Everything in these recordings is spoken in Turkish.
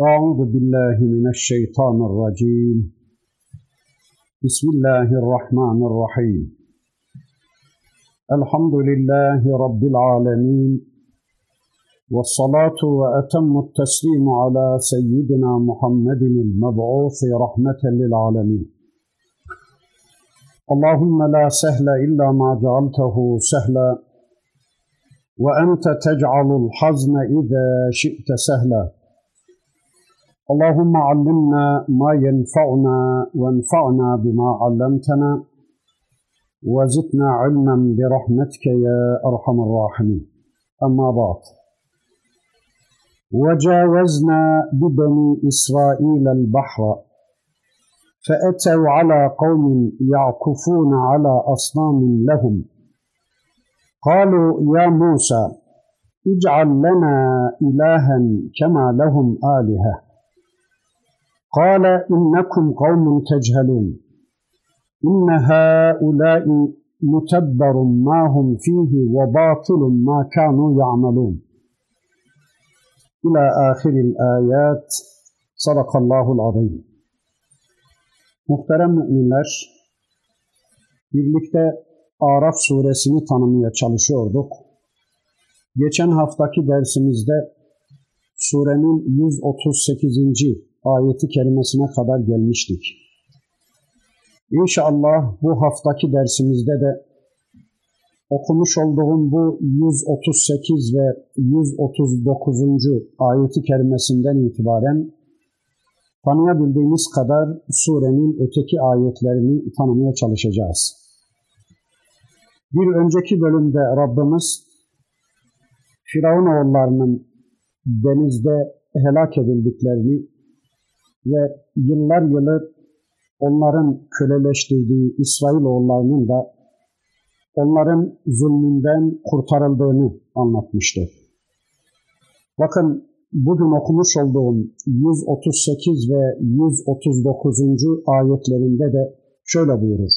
أعوذ بالله من الشيطان الرجيم. بسم الله الرحمن الرحيم. الحمد لله رب العالمين، والصلاة وأتم التسليم على سيدنا محمد المبعوث رحمة للعالمين. اللهم لا سهل إلا ما جعلته سهلا، وأنت تجعل الحزن إذا شئت سهلا. اللهم علمنا ما ينفعنا وانفعنا بما علمتنا وزدنا علما برحمتك يا أرحم الراحمين. أما بعد، وجاوزنا ببني إسرائيل البحر فأتوا على قوم يعكفون على أصنام لهم، قالوا يا موسى اجعل لنا إلها كما لهم آلهة، قال إنكم قوم تجهلون، إن هؤلاء متبر ما هم فيه وباطل ما كانوا يعملون. إلى آخر الآيات. صدق الله العظيم. Muhterem müminler, birlikte Araf suresini tanımaya çalışıyorduk. Geçen haftaki dersimizde surenin 138. ayeti kerimesine kadar gelmiştik. İnşallah bu haftaki dersimizde de okumuş olduğum bu 138 ve 139. ayeti kerimesinden itibaren tanıyabildiğimiz kadar surenin öteki ayetlerini tanımaya çalışacağız. Bir önceki bölümde Rabbimiz Firavunoğullarının denizde helak edildiklerini ve yıllar yılı onların köleleştirdiği İsrailoğullarının da onların zulmünden kurtarıldığını anlatmıştı. Bakın bugün okumuş olduğum 138 ve 139. ayetlerinde de şöyle buyurur.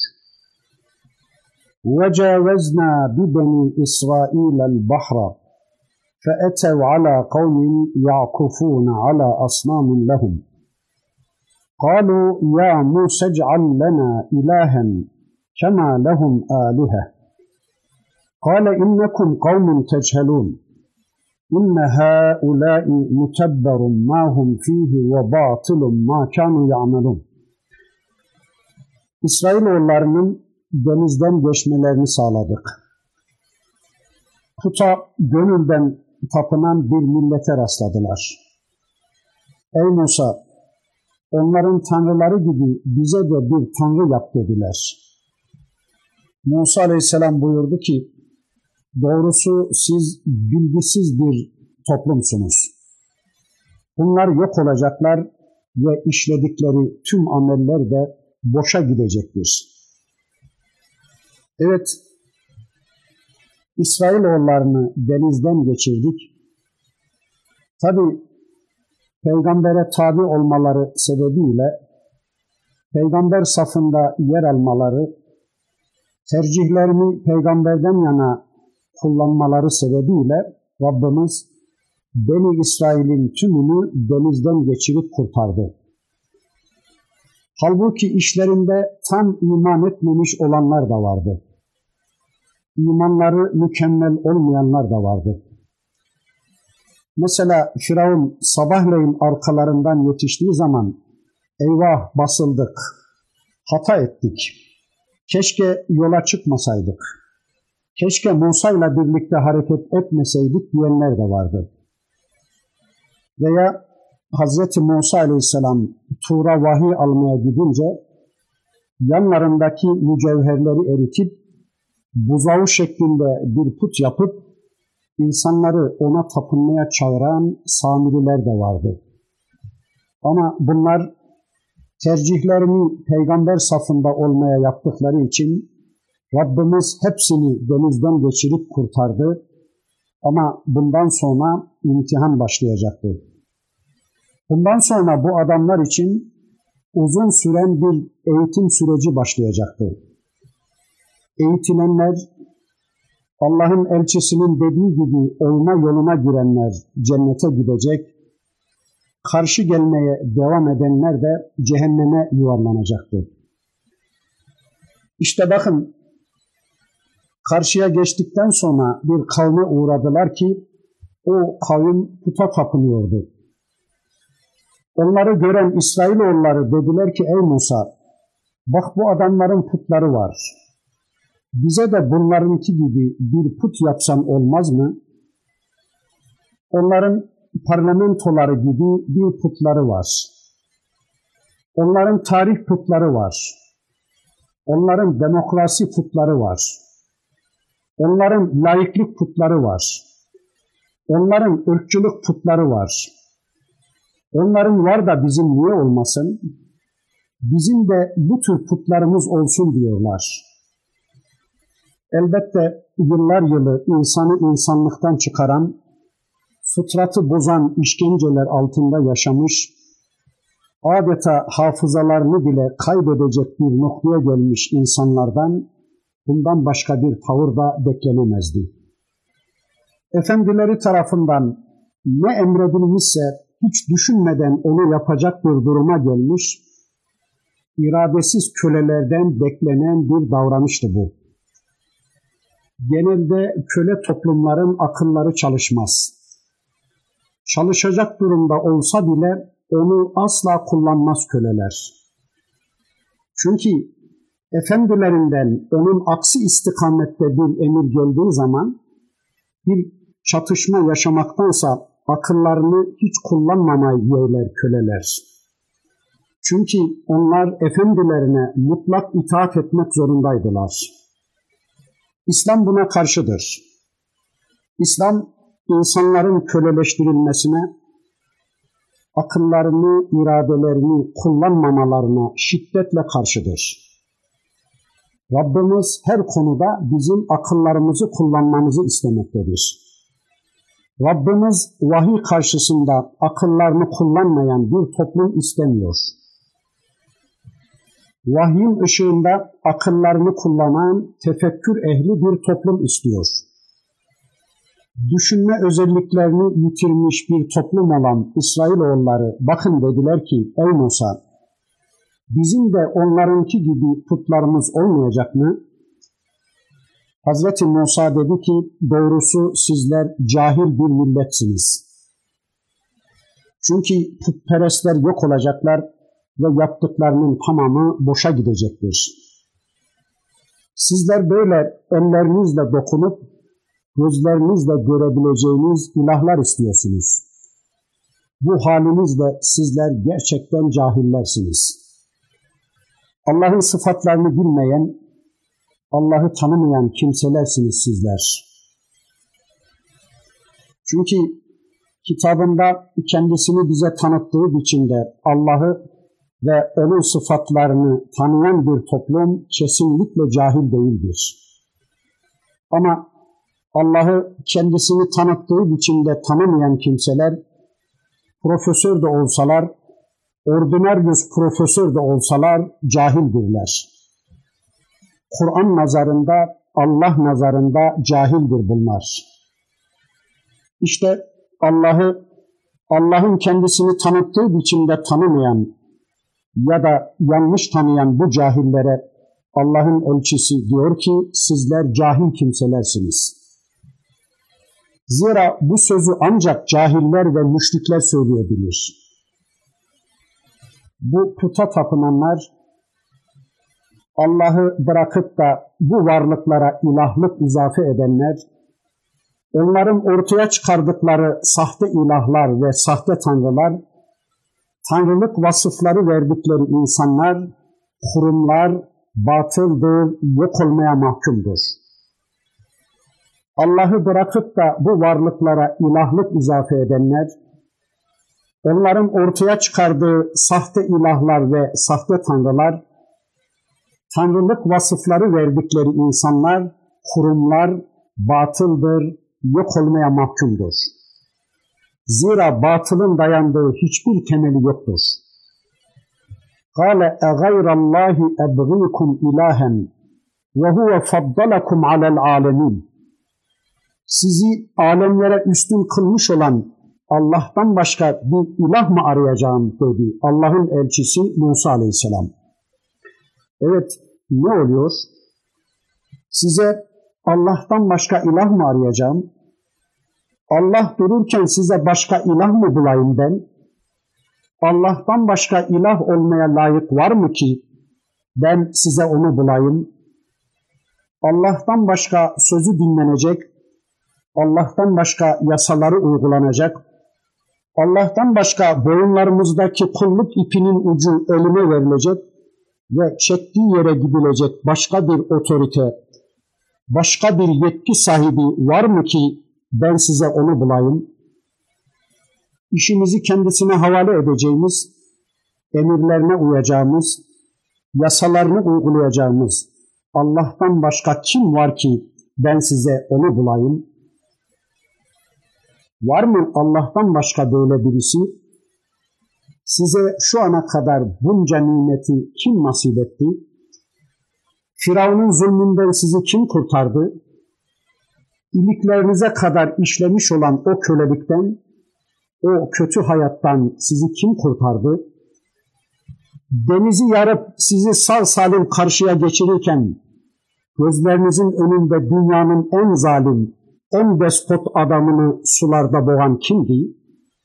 وَجَاوَزْنَا بِبَنِي إِسْرَائِيلَ الْبَحْرَ فَأَتَوْا عَلَى قَوْمٍ يَعْكُفُونَ عَلَى أَصْنَامٍ لَهُمْ قالوا يا موسى اجعل لنا إلها كما لهم آلهة قال إنكم قوم تجهلون إن هؤلاء متبر ما هم فيه وباطل ما كانوا يعملون. İsrailoğullarının denizden geçmelerini sağladık. Puta gönülden tapınan bir millete rastladılar. Ey Musa, onların tanrıları gibi bize de bir tanrı yap dediler. Musa aleyhisselam buyurdu ki, doğrusu siz bilgisiz bir toplumsunuz. Bunlar yok olacaklar ve işledikleri tüm ameller de boşa gidecektir. Evet, İsrailoğullarını denizden geçirdik. Tabii Peygambere tabi olmaları sebebiyle peygamber safında yer almaları, tercihlerini peygamberden yana kullanmaları sebebiyle Rabbimiz Beni İsrail'in tümünü denizden geçirip kurtardı. Halbuki işlerinde tam iman etmemiş olanlar da vardı. İmanları mükemmel olmayanlar da vardı. Mesela Firavun sabahleyin arkalarından yetiştiği zaman eyvah basıldık, hata ettik, keşke yola çıkmasaydık, keşke Musa'yla birlikte hareket etmeseydik diyenler de vardı. Veya Hz. Musa aleyhisselam Tur'a vahiy almaya gidince yanlarındaki mücevherleri eritip buzağı şeklinde bir put yapıp İnsanları ona tapınmaya çağıran Samiriler de vardı. Ama bunlar tercihlerini peygamber safında olmaya yaptıkları için Rabbimiz hepsini denizden geçirip kurtardı. Ama bundan sonra imtihan başlayacaktı. Bundan sonra bu adamlar için uzun süren bir eğitim süreci başlayacaktı. Eğitilenler, Allah'ın elçisinin dediği gibi olma yoluna girenler cennete gidecek, karşı gelmeye devam edenler de cehenneme yuvarlanacaktı. İşte bakın, karşıya geçtikten sonra bir kavme uğradılar ki o kavim puta tapınıyordu. Onları gören İsrailoğulları dediler ki ey Musa, bak bu adamların putları var. Bize de bunlarınki gibi bir put yapsan olmaz mı? Onların parlamentoları gibi bir putları var. Onların tarih putları var. Onların demokrasi putları var. Onların laiklik putları var. Onların ırkçılık putları var. Onların var da bizim niye olmasın? Bizim de bu tür putlarımız olsun diyorlar. Elbette yıllar yılı insanı insanlıktan çıkaran, fıtratı bozan işkenceler altında yaşamış, adeta hafızalarını bile kaybedecek bir noktaya gelmiş insanlardan bundan başka bir tavır da beklenemezdi. Efendileri tarafından ne emredilmişse hiç düşünmeden onu yapacak bir duruma gelmiş, iradesiz kölelerden beklenen bir davranıştı bu. Genelde köle toplumların akılları çalışmaz. Çalışacak durumda olsa bile onu asla kullanmaz köleler. Çünkü efendilerinden onun aksi istikamette bir emir geldiği zaman bir çatışma yaşamaktansa akıllarını hiç kullanmamayı yeğler köleler. Çünkü onlar efendilerine mutlak itaat etmek zorundaydılar. İslam buna karşıdır. İslam insanların köleleştirilmesine, akıllarını, iradelerini kullanmamalarına şiddetle karşıdır. Rabbimiz her konuda bizim akıllarımızı kullanmamızı istemektedir. Rabbimiz vahiy karşısında akıllarını kullanmayan bir toplum istemiyor. Vahyin ışığında akıllarını kullanan tefekkür ehli bir toplum istiyor. Düşünme özelliklerini yitirmiş bir toplum olan İsrailoğulları bakın dediler ki ey Musa, bizim de onlarınki gibi putlarımız olmayacak mı? Hazreti Musa dedi ki doğrusu sizler cahil bir milletsiniz. Çünkü putperestler yok olacaklar ve yaptıklarının tamamı boşa gidecektir. Sizler böyle ellerinizle dokunup gözlerinizle görebileceğiniz ilahlar istiyorsunuz. Bu halinizle sizler gerçekten cahillersiniz. Allah'ın sıfatlarını bilmeyen, Allah'ı tanımayan kimselersiniz sizler. Çünkü kitabında kendisini bize tanıttığı biçimde Allah'ı ve onun sıfatlarını tanıyan bir toplum kesinlikle cahil değildir. Ama Allah'ı kendisini tanıttığı biçimde tanımayan kimseler, profesör de olsalar, ordinaryus profesör de olsalar cahildirler. Kur'an nazarında, Allah nazarında cahildir bunlar. İşte Allah'ın kendisini tanıttığı biçimde tanımayan ya da yanlış tanıyan bu cahillere Allah'ın elçisi diyor ki sizler cahil kimselersiniz. Zira bu sözü ancak cahiller ve müşrikler söyleyebilir. Bu puta tapınanlar Allah'ı bırakıp da bu varlıklara ilahlık izafe edenler, onların ortaya çıkardıkları sahte ilahlar ve sahte tanrılar, tanrılık vasıfları verdikleri insanlar, kurumlar batıldır, yok olmaya mahkumdur. Allah'ı bırakıp da bu varlıklara ilahlık izafe edenler, onların ortaya çıkardığı sahte ilahlar ve sahte tanrılar, tanrılık vasıfları verdikleri insanlar, kurumlar batıldır, yok olmaya mahkumdur. Zira batılın dayandığı hiçbir temeli yoktur. قَالَ اَغَيْرَ اللّٰهِ اَبْغِيكُمْ اِلَٰهًا وَهُوَ فَضَّلَكُمْ عَلَى الْعَالَمِينَ. Sizi alemlere üstün kılmış olan Allah'tan başka bir ilah mı arayacağım dedi Allah'ın elçisi Musa Aleyhisselam. Evet, ne oluyor? Size Allah'tan başka ilah mı arayacağım? Allah dururken size başka ilah mı bulayım ben? Allah'tan başka ilah olmaya layık var mı ki ben size onu bulayım? Allah'tan başka sözü dinlenecek, Allah'tan başka yasaları uygulanacak, Allah'tan başka boyunlarımızdaki kulluk ipinin ucu elime verilecek ve çektiği yere gidilecek başka bir otorite, başka bir yetki sahibi var mı ki ben size onu bulayım? İşimizi kendisine havale edeceğimiz, emirlerine uyacağımız, yasalarını uygulayacağımız Allah'tan başka kim var ki ben size onu bulayım? Var mı Allah'tan başka böyle birisi? Size şu ana kadar bunca nimeti kim nasip etti? Firavun'un zulmünden sizi kim kurtardı? İliklerinize kadar işlemiş olan o kölelikten, o kötü hayattan sizi kim kurtardı? Denizi yarıp sizi sağ salim karşıya geçirirken gözlerinizin önünde dünyanın en zalim, en despot adamını sularda boğan kimdi?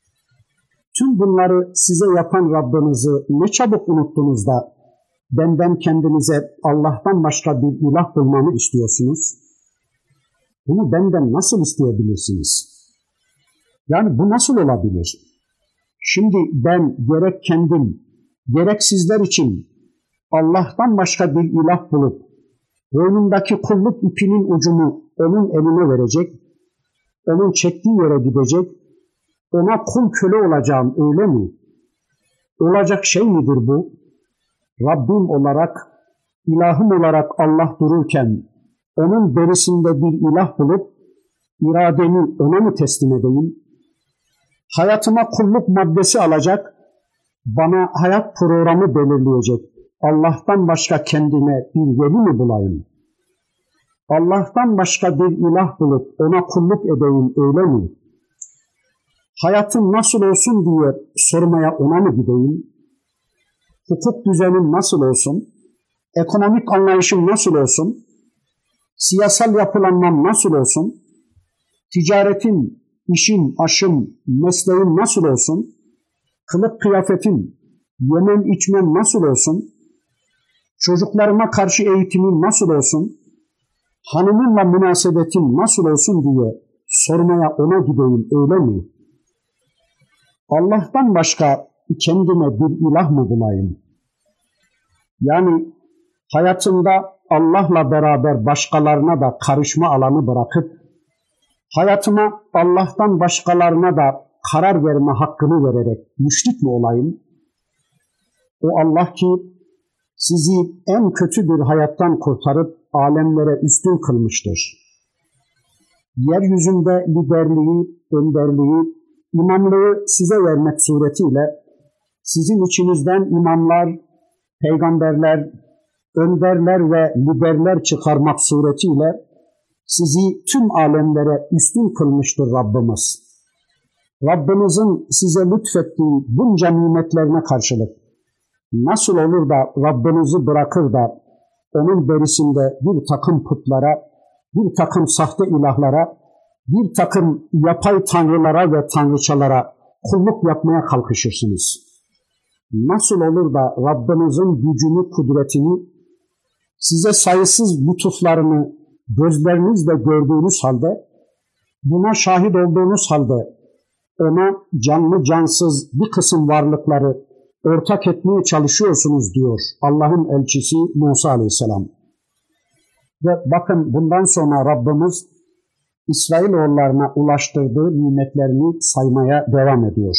Tüm bunları size yapan Rabbinizi ne çabuk unuttunuz da benden kendinize Allah'tan başka bir ilah bulmamı istiyorsunuz? Bunu benden nasıl isteyebilirsiniz? Yani bu nasıl olabilir? Şimdi ben gerek kendim, gerek sizler için Allah'tan başka bir ilah bulup boynundaki kulluk ipinin ucunu onun eline verecek, onun çektiği yere gidecek, ona kul köle olacağım öyle mi? Olacak şey midir bu? Rabbim olarak, ilahım olarak Allah dururken onun berisinde bir ilah bulup irademi ona mı teslim edeyim? Hayatıma kulluk maddesi alacak, bana hayat programı belirleyecek Allah'tan başka kendime bir veli mi bulayım? Allah'tan başka bir ilah bulup ona kulluk edeyim öyle mi? Hayatım nasıl olsun diye sormaya ona mı gideyim? Hukuk düzenim nasıl olsun? Ekonomik anlayışım nasıl olsun? Siyasal yapılanmam nasıl olsun? Ticaretim, işim, aşım, mesleğim nasıl olsun? Kılık kıyafetim, yemem içmem nasıl olsun? Çocuklarıma karşı eğitimim nasıl olsun? Hanımımla münasebetim nasıl olsun diye sormaya ona gideyim öyle mi? Allah'tan başka kendime bir ilah mı bulayım? Yani hayatımda Allah'la beraber başkalarına da karışma alanı bırakıp hayatıma Allah'tan başkalarına da karar verme hakkını vererek müşrik mi olayım? O Allah ki sizi en kötü bir hayattan kurtarıp alemlere üstün kılmıştır. Yeryüzünde liderliği, önderliği, imamlığı size vermek suretiyle sizin içinizden imamlar, peygamberler, önderler ve liderler çıkarmak suretiyle sizi tüm alemlere üstün kılmıştır Rabbimiz. Rabbimizin size lütfettiği bunca nimetlerine karşılık nasıl olur da Rabbinizi bırakır da onun berisinde bir takım putlara, bir takım sahte ilahlara, bir takım yapay tanrılara ve tanrıçalara kulluk yapmaya kalkışırsınız? Nasıl olur da Rabbinizin gücünü, kudretini, size sayısız lütuflarını gözlerinizle gördüğünüz halde, buna şahit olduğunuz halde ona canlı cansız bir kısım varlıkları ortak etmeye çalışıyorsunuz diyor Allah'ın elçisi Musa Aleyhisselam. Ve bakın bundan sonra Rabbimiz İsrailoğullarına ulaştırdığı nimetlerini saymaya devam ediyor.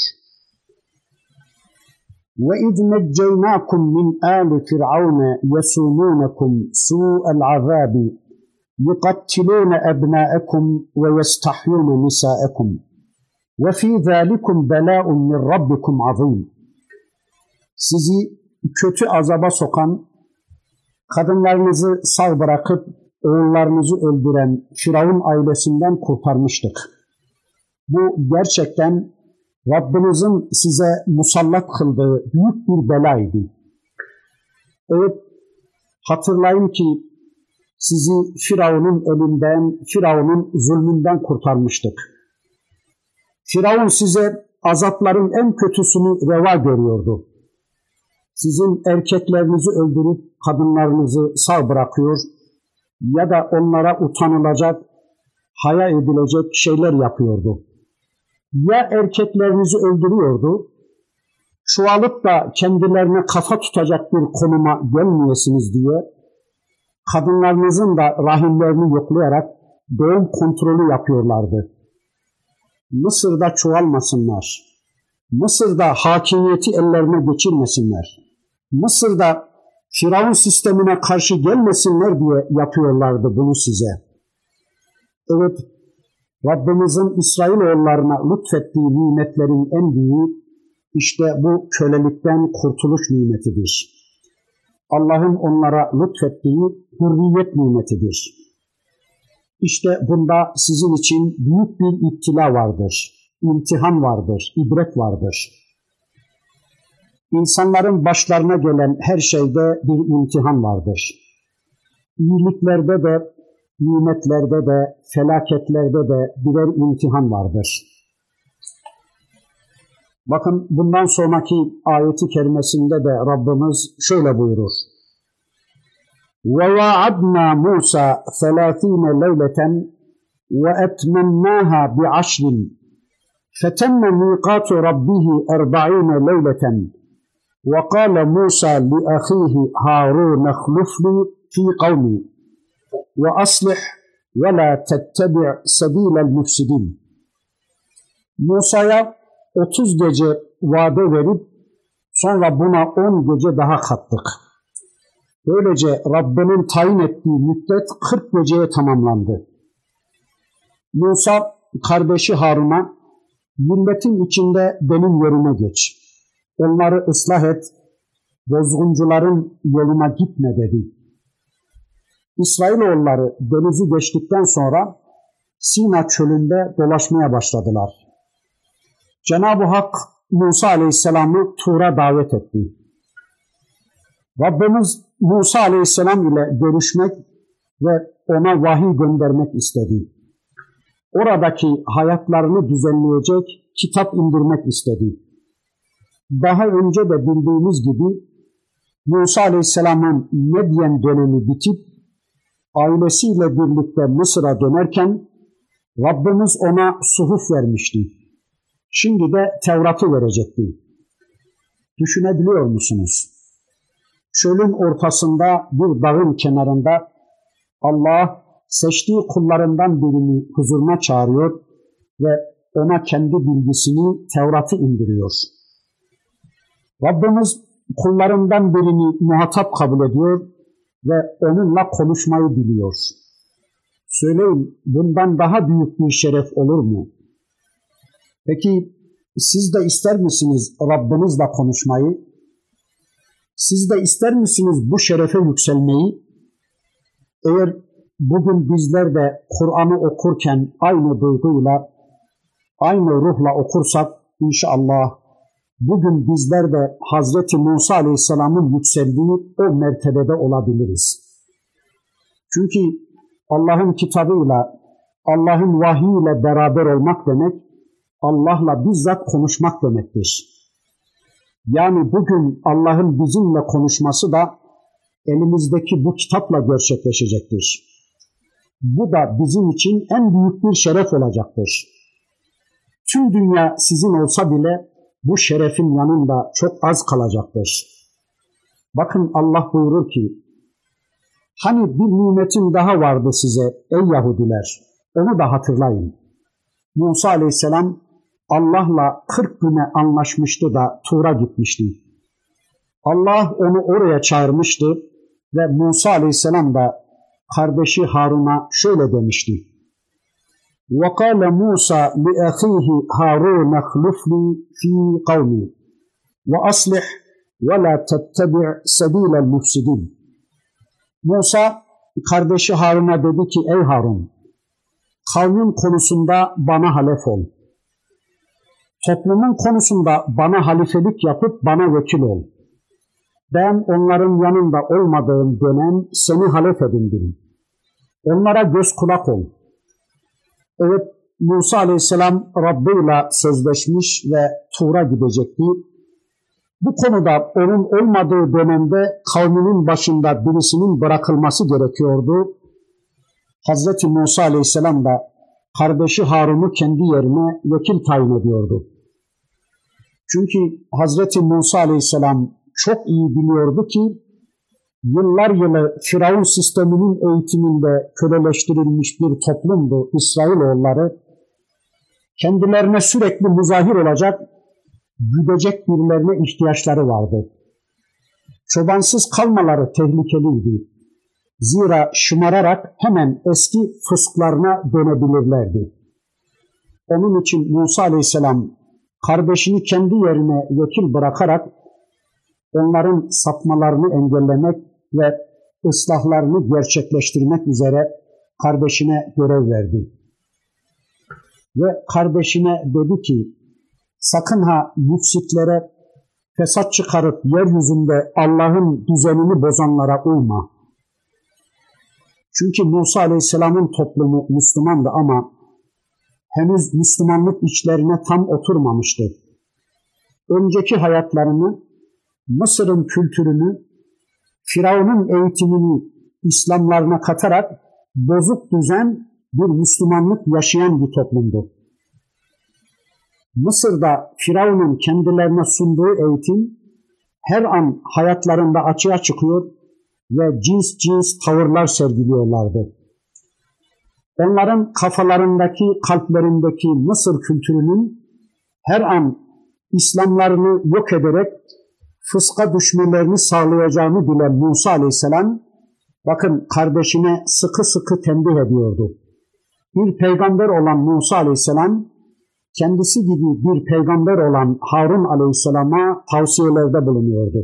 وَاِذْ نَجَّيْنَاكُمْ مِنْ آلِ فِرْعَوْنَ يَسُومُونَكُمْ سُوءَ الْعَذَابِ يُقَتِّلُونَ أَبْنَاءَكُمْ وَيَسْتَحْيُونَ نِسَاءَكُمْ وَفِي ذَٰلِكُمْ بَلَاءٌ مِنْ رَبِّكُمْ عَظِيمٌ. Sizi kötü azaba sokan, kadınlarınızı sağ bırakıp oğullarınızı öldüren Firavun ailesinden kurtarmıştık. Bu gerçekten Rabbinizin size musallat kıldığı büyük bir belaydı. Evet, hatırlayın ki sizi Firavun'un elinden, Firavun'un zulmünden kurtarmıştık. Firavun size azapların en kötüsünü reva görüyordu. Sizin erkeklerinizi öldürüp kadınlarınızı sağ bırakıyor ya da onlara utanılacak, haya edilecek şeyler yapıyordu. Ya erkeklerinizi öldürüyordu, çoğalıp da kendilerine kafa tutacak bir konuma gelmeyesiniz diye kadınlarınızın da rahimlerini yoklayarak doğum kontrolü yapıyorlardı. Mısır'da çoğalmasınlar, Mısır'da hakimiyeti ellerine geçirmesinler, Mısır'da Firavun sistemine karşı gelmesinler diye yapıyorlardı bunu size. Evet, Rabbimizin İsrailoğullarına lütfettiği nimetlerin en büyüğü işte bu kölelikten kurtuluş nimetidir. Allah'ın onlara lütfettiği hürriyet nimetidir. İşte bunda sizin için büyük bir iptila vardır, imtihan vardır, ibret vardır. İnsanların başlarına gelen her şeyde bir imtihan vardır. İyiliklerde de, nimetlerde de, felaketlerde de birer imtihan vardır. Bakın bundan sonraki ayeti kerimesinde de Rabbimiz şöyle buyurur. وَوَعَدْنَا مُوسَى 30 لَيْلَةً وَأَتْمَمْنَاهَا بِعَشْرٍ فَتَمَّ مِيقَاتُ رَبِّهِ 40 لَيْلَةً وَقَالَ مُوسَى لِأَخِيهِ هَارُونَ اخْلُفْنِي فِي قَوْمِي وَأَصْلِحْ وَلَا تَتَّبِعْ سَب۪يلَ الْمُفْسِدِينَ. Musa'ya 30 gece vade verip sonra buna 10 gece daha kattık. Böylece Rabbinin tayin ettiği müddet 40 geceye tamamlandı. Musa kardeşi Harun'a milletin içinde benim yerime geç. Onları ıslah et, bozguncuların yoluna gitme dedi. İsrailoğulları denizi geçtikten sonra Sina çölünde dolaşmaya başladılar. Cenab-ı Hak Musa Aleyhisselam'ı Tur'a davet etti. Rabbimiz Musa Aleyhisselam ile görüşmek ve ona vahiy göndermek istedi. Oradaki hayatlarını düzenleyecek kitap indirmek istedi. Daha önce de bildiğimiz gibi Musa Aleyhisselam'ın Medyen dönemi bitip ailesiyle birlikte Mısır'a dönerken Rabbimiz ona suhuf vermişti. Şimdi de Tevrat'ı verecekti. Düşünebiliyor musunuz? Çölün ortasında bir dağın kenarında Allah seçtiği kullarından birini huzuruna çağırıyor ve ona kendi bilgisini, Tevrat'ı indiriyor. Rabbimiz kullarından birini muhatap kabul ediyor ve onunla konuşmayı biliyor. Söyleyin, bundan daha büyük bir şeref olur mu? Peki siz de ister misiniz Rabbinizle konuşmayı? Siz de ister misiniz bu şerefe yükselmeyi? Eğer bugün bizler de Kur'an'ı okurken aynı duyguyla, aynı ruhla okursak inşallah bugün bizler de Hazreti Musa Aleyhisselam'ın yükseldiği o mertebede olabiliriz. Çünkü Allah'ın kitabıyla, Allah'ın vahiyiyle beraber olmak demek, Allah'la bizzat konuşmak demektir. Yani bugün Allah'ın bizimle konuşması da elimizdeki bu kitapla gerçekleşecektir. Bu da bizim için en büyük bir şeref olacaktır. Tüm dünya sizin olsa bile bu şerefin yanında çok az kalacaktır. Bakın Allah buyurur ki, hani bir nimetim daha vardı size ey Yahudiler, onu da hatırlayın. Musa Aleyhisselam Allah'la 40 güne anlaşmıştı da Tur'a gitmişti. Allah onu oraya çağırmıştı ve Musa Aleyhisselam da kardeşi Harun'a şöyle demişti. وَقَالَ مُوسَى لِأَخِيهِ هَارُونَ اخْلُفْنِي فِي قَوْمِي وَأَصْلِحْ وَلَا تَتَّبِعْ سَب۪يلَ الْمُفْسِدِينَ. Musa kardeşi Harun'a dedi ki, ey Harun, kavmin konusunda bana halef ol. toplumun konusunda bana halifelik yapıp bana vekil ol. Ben onların yanında olmadığım dönem seni halef edindim. Onlara göz kulak ol. Evet, Musa Aleyhisselam Rabb'iyle sözleşmiş ve Tur'a gidecekti. Bu konuda onun olmadığı dönemde kavminin başında birisinin bırakılması gerekiyordu. Hazreti Musa Aleyhisselam da kardeşi Harun'u kendi yerine vekil tayin ediyordu. Çünkü Hazreti Musa Aleyhisselam çok iyi biliyordu ki yıllar yılı Firavun sisteminin eğitiminde köleleştirilmiş bir toplumdu İsrailoğulları. Kendilerine sürekli muzahir olacak, güdecek birilerine ihtiyaçları vardı. Çobansız kalmaları tehlikeliydi. Zira şımararak hemen eski fısklarına dönebilirlerdi. Onun için Musa Aleyhisselam kardeşini kendi yerine vekil bırakarak onların sapmalarını engellemek ve ıslahlarını gerçekleştirmek üzere kardeşine görev verdi. Ve kardeşine dedi ki, sakın ha müfsitlere, fesat çıkarıp yeryüzünde Allah'ın düzenini bozanlara uyma. Çünkü Musa Aleyhisselam'ın toplumu Müslümandı ama henüz Müslümanlık içlerine tam oturmamıştı. Önceki hayatlarını, Mısır'ın kültürünü, Firavun'un eğitimini İslamlarına katarak bozuk düzen bir Müslümanlık yaşayan bir toplumdu. Mısır'da Firavun'un kendilerine sunduğu eğitim her an hayatlarında açığa çıkıyor ve cins cins tavırlar sergiliyorlardı. Onların kafalarındaki, kalplerindeki Mısır kültürünün her an İslamlarını yok ederek fıska düşmelerini sağlayacağını bilen Musa Aleyhisselam, bakın kardeşine sıkı sıkı tembih ediyordu. Bir peygamber olan Musa Aleyhisselam, kendisi gibi bir peygamber olan Harun Aleyhisselam'a tavsiyelerde bulunuyordu.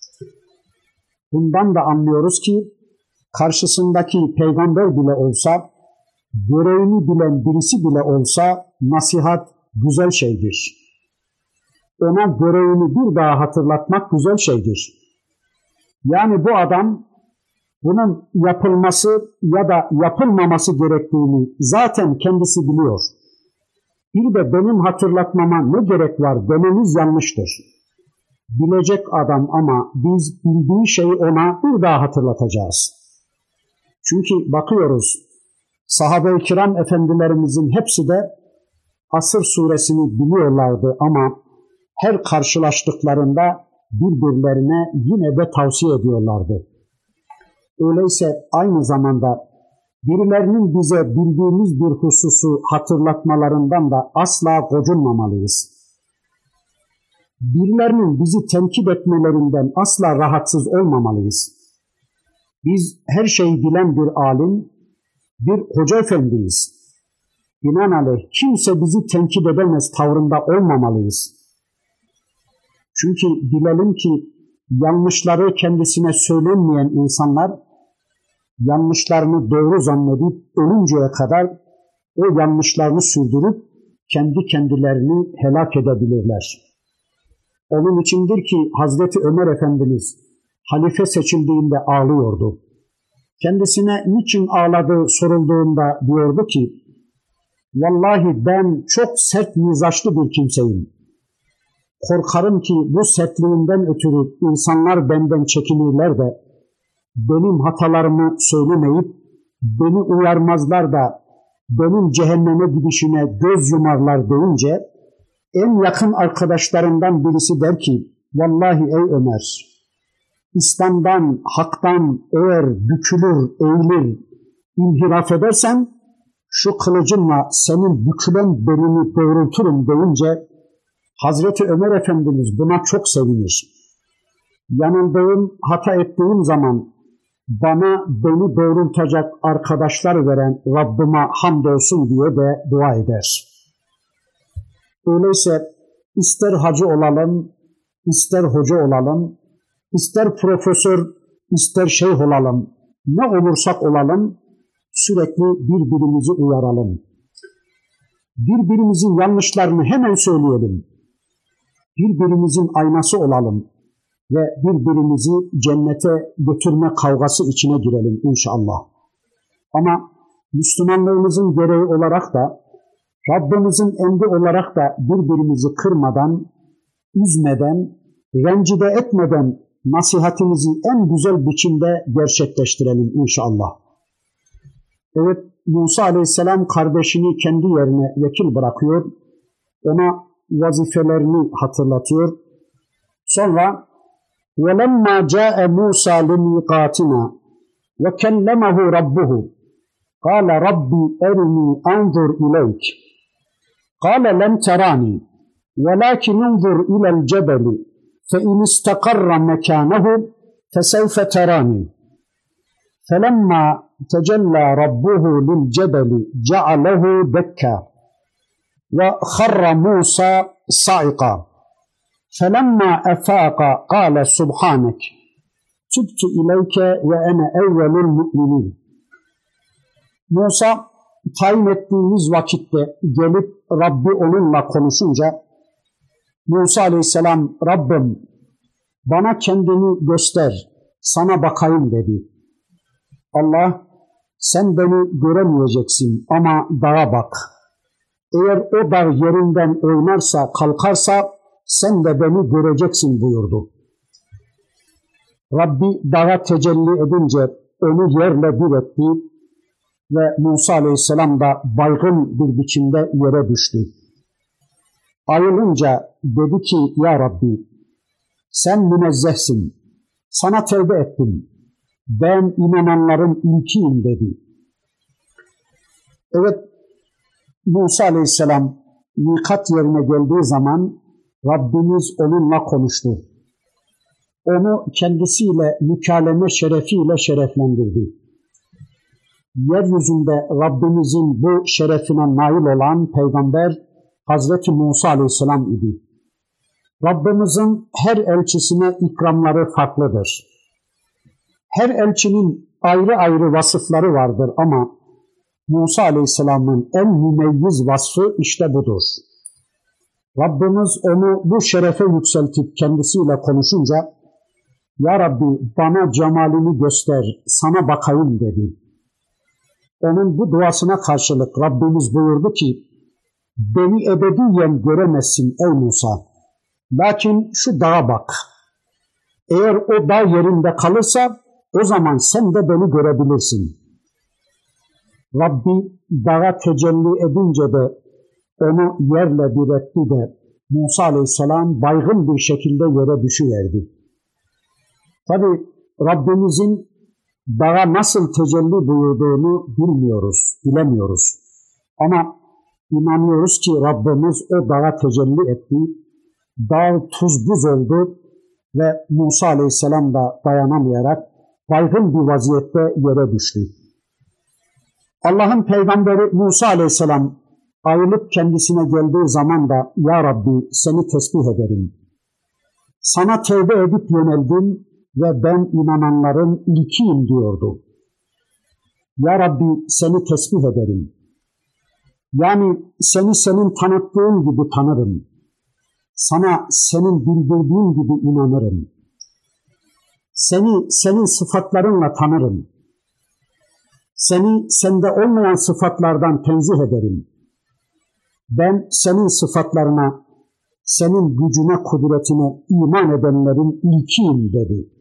Bundan da anlıyoruz ki, karşısındaki peygamber bile olsa, görevini bilen birisi bile olsa nasihat güzel şeydir. Ona görevini bir daha hatırlatmak güzel şeydir. Yani bu adam bunun yapılması ya da yapılmaması gerektiğini zaten kendisi biliyor. Bir de benim hatırlatmama ne gerek var dememiz yanlıştır. Bilecek adam ama biz bildiği şeyi ona bir daha hatırlatacağız. Çünkü bakıyoruz, sahabe-i kiram efendilerimizin hepsi de Asr suresini biliyorlardı ama her karşılaştıklarında birbirlerine yine de tavsiye ediyorlardı. Öyleyse aynı zamanda birilerinin bize bildiğimiz bir hususu hatırlatmalarından da asla gocunmamalıyız. Birilerinin bizi tenkit etmelerinden asla rahatsız olmamalıyız. Biz her şeyi bilen bir alim, bir hoca efendiyiz. Binaenaleyh kimse bizi tenkit edemez tavrında olmamalıyız. Çünkü bilelim ki yanlışları kendisine söylenmeyen insanlar yanlışlarını doğru zannedip ölünceye kadar o yanlışlarını sürdürüp kendi kendilerini helak edebilirler. Onun içindir ki Hazreti Ömer Efendimiz halife seçildiğinde ağlıyordu. Kendisine niçin ağladığı sorulduğunda diyordu ki, vallahi ben çok sert mizaçlı bir kimseyim. Korkarım ki bu sertliğinden ötürü insanlar benden çekinirler de benim hatalarımı söylemeyip beni uyarmazlar da benim cehenneme gidişime göz yumarlar deyince en yakın arkadaşlarından birisi der ki, vallahi ey Ömer, İslam'dan, haktan eğer bükülür, eğilir, inhiraf edersen şu kılıcımla senin bükülen belini doğrulturum deyince Hazreti Ömer Efendimiz buna çok sevinir. Yanıldığım, hata ettiğim zaman bana beni doğrultacak arkadaşlar veren Rabbime hamdolsun diye de dua eder. Öyleyse ister hacı olalım, ister hoca olalım, ister profesör, ister şeyh olalım, ne olursak olalım sürekli birbirimizi uyaralım. birbirimizin yanlışlarını hemen söyleyelim. Birbirimizin aynası olalım ve birbirimizi cennete götürme kavgası içine girelim inşallah. Ama Müslümanlığımızın gereği olarak da, Rabbimizin emri olarak da birbirimizi kırmadan, üzmeden, rencide etmeden nasihatimizi en güzel biçimde gerçekleştirelim inşallah. Evet, Musa Aleyhisselam kardeşini kendi yerine vekil bırakıyor, ona vazifelerini hatırlatıyor. Sonra وَلَمَّا جَاءَ مُوسَى لِمِيقَاتِنَا وَكَلَّمَهُ رَبُّهُ قَالَ رَبِّ أَرِنِي أَنْظُرْ إِلَيْكَ قَالَ لَنْ تَرَانِي وَلَكِنْ انْظُرْ إِلَى الْجَبَلِ فَإِنِ اسْتَقَرَّ مَكَانَهُ فَسَوْفَ تَرَانِي فَلَمَّا تَجَلَّى رَبُّهُ لِلْجَبَلِ جَعَلَهُ دَكًّا وَخَرَّ مُوسَى صَعِقًا فَلَمَّا أَفَاقَ قَالَ سُبْحَانَكَ تُبْتُ إِلَيْكَ وَأَنَا أَوَّلُ الْمُؤْمِنِينَ. Musa tayin ettiğimiz vakitte gelip Rabbi onunla konuşunca Musa Aleyhisselam, Rabbim bana kendini göster, sana bakayım dedi. Allah, sen beni göremeyeceksin ama dağa bak. Eğer o dağ yerinden oynarsa, kalkarsa sen de beni göreceksin buyurdu. Rabbi dağa tecelli edince onu yerle bir etti ve Musa Aleyhisselam da baygın bir biçimde yere düştü. Ayılınca dedi ki, Ya Rabbi sen münezzehsin, sana tevbe ettim, ben inananların ilkiyim dedi. Evet, Musa Aleyhisselam mikat yerine geldiği zaman Rabbimiz onunla konuştu. Onu kendisiyle mükalleme şerefiyle şereflendirdi. Yeryüzünde Rabbimizin bu şerefine nail olan peygamber Hazreti Musa Aleyhisselam idi. Rabbimizin her elçisine ikramları farklıdır. Her elçinin ayrı ayrı vasıfları vardır ama Musa Aleyhisselam'ın en mümeyyiz vasfı işte budur. Rabbimiz onu bu şerefe yükseltip kendisiyle konuşunca, Ya Rabbi bana cemalini göster, sana bakayım dedi. Onun bu duasına karşılık Rabbimiz buyurdu ki, beni ebediyen göremezsin ey Musa. Lakin şu dağa bak. Eğer o dağ yerinde kalırsa o zaman sen de beni görebilirsin. Rabbi dağa tecelli edince de onu yerle bir etti de Musa Aleyhisselam baygın bir şekilde yere düşüverdi. Tabi Rabbimizin dağa nasıl tecelli buyurduğunu bilemiyoruz. Ama inanıyoruz ki Rabbimiz o dağa tecelli etti. Dağ tuz buz oldu ve Musa Aleyhisselam da dayanamayarak baygın bir vaziyette yere düştü. Allah'ın peygamberi Musa Aleyhisselam ayılıp kendisine geldiği zaman da Ya Rabbi seni tesbih ederim. Sana tevbe edip yöneldim ve ben inananların ilkiyim diyordu. Ya Rabbi seni tesbih ederim. Yani seni senin tanıttığın gibi tanırım. Sana senin bildirdiğin gibi inanırım. Seni senin sıfatlarınla tanırım. Seni sende olmayan sıfatlardan tenzih ederim. Ben senin sıfatlarına, senin gücüne, kudretine iman edenlerin ilkiyim dedi.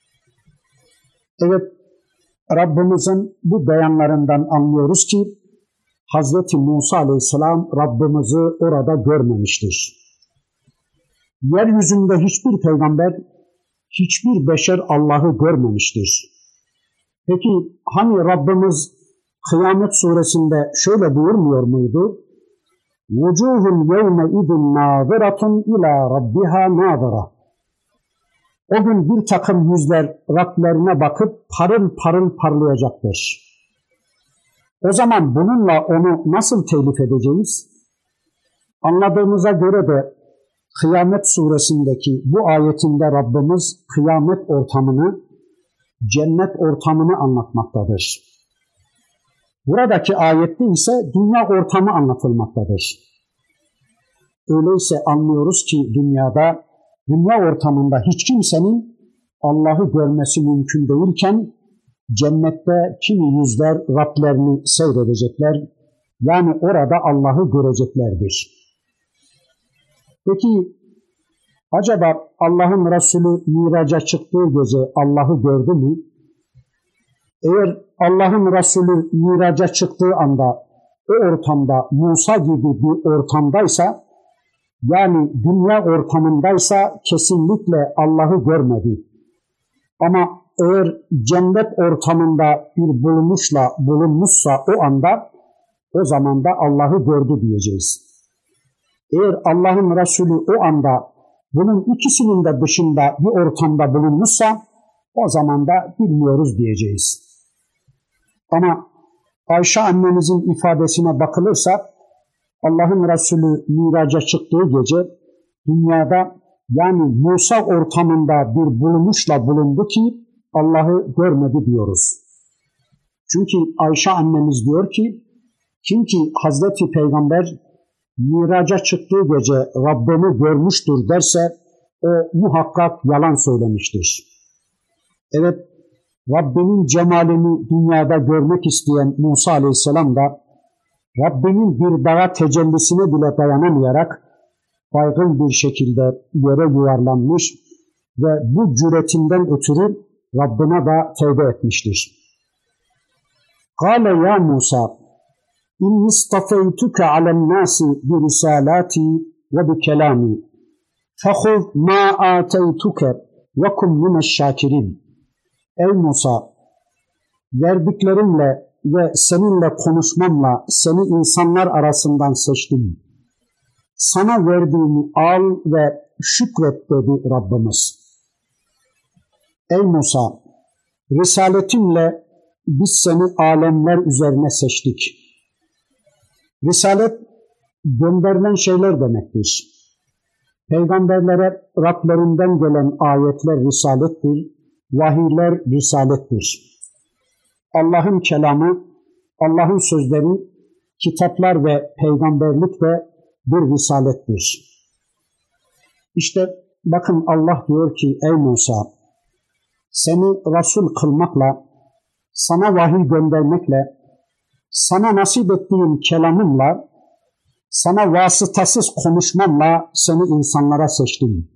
Evet, Rabbimizin bu beyanlarından anlıyoruz ki Hazreti Musa Aleyhisselam Rabbimizi orada görmemiştir. Yeryüzünde hiçbir peygamber, hiçbir beşer Allah'ı görmemiştir. Peki hani Rabbimiz Kıyamet suresinde şöyle buyurmuyor muydu? وَجُوهٌ يَوْمَئِذٍ نَاظِرَةٌ إِلَى رَبِّهَا نَاظِرَةٌ. O gün bir takım yüzler Rablerine bakıp parıl parıl parlayacaktır. O zaman bununla onu nasıl telif edeceğiz? Anladığımıza göre de Kıyamet suresindeki bu ayetinde Rabbimiz kıyamet ortamını, cennet ortamını anlatmaktadır. Buradaki ayette ise dünya ortamı anlatılmaktadır. Öyleyse anlıyoruz ki dünya ortamında hiç kimsenin Allah'ı görmesi mümkün değilken cennette kimi yüzler Rablerini seyredecekler. Yani orada Allah'ı göreceklerdir. Peki acaba Allah'ın Resulü Miraç'a çıktığı gece Allah'ı gördü mü? Eğer Allah'ın Resulü Miraç'a çıktığı anda o ortamda Musa gibi bir ortamdaysa, yani dünya ortamındaysa kesinlikle Allah'ı görmedi. Ama eğer cennet ortamında bir bulunmuşsa o anda, o zaman da Allah'ı gördü diyeceğiz. Eğer Allah'ın Resulü o anda bunun ikisinin de dışında bir ortamda bulunmuşsa, o zaman da bilmiyoruz diyeceğiz. Ama Ayşe annemizin ifadesine bakılırsa, Allah'ın Resulü Miraç'a çıktığı gece dünyada, yani Musa ortamında bir bulundu ki Allah'ı görmedi diyoruz. Çünkü Ayşe annemiz diyor ki, kim ki Hazreti Peygamber Miraç'a çıktığı gece Rabbini görmüştür derse o muhakkak yalan söylemiştir. Evet, Rabbinin cemalini dünyada görmek isteyen Musa Aleyhisselam da Rabbinin bir dağa tecellisine bile dayanamayarak baygın bir şekilde yere yuvarlanmış ve bu cüretinden ötürü Rabbine de tevbe etmiştir. Kâle ya Musa, İnni istafeytuke alennâsi bi risalâti ve bi kelâmi fehuz mâ âteytuke ve kum mineşşâkirin. Ey Musa, verdiklerimle ve seninle konuşmamla seni insanlar arasından seçtim. Sana verdiğimi al ve şükret dedi Rabbimiz. Ey Musa, risaletimle biz seni alemler üzerine seçtik. Risalet gönderilen şeyler demektir. Peygamberlere Rablerinden gelen ayetler risalettir, vahiyler risalettir. Allah'ın kelamı, Allah'ın sözleri, kitaplar ve peygamberlik de bir risalettir. İşte bakın Allah diyor ki ey Musa, seni Resul kılmakla, sana vahiy göndermekle, sana nasip ettiğim kelamımla, sana vasıtasız konuşmamla seni insanlara seçtim.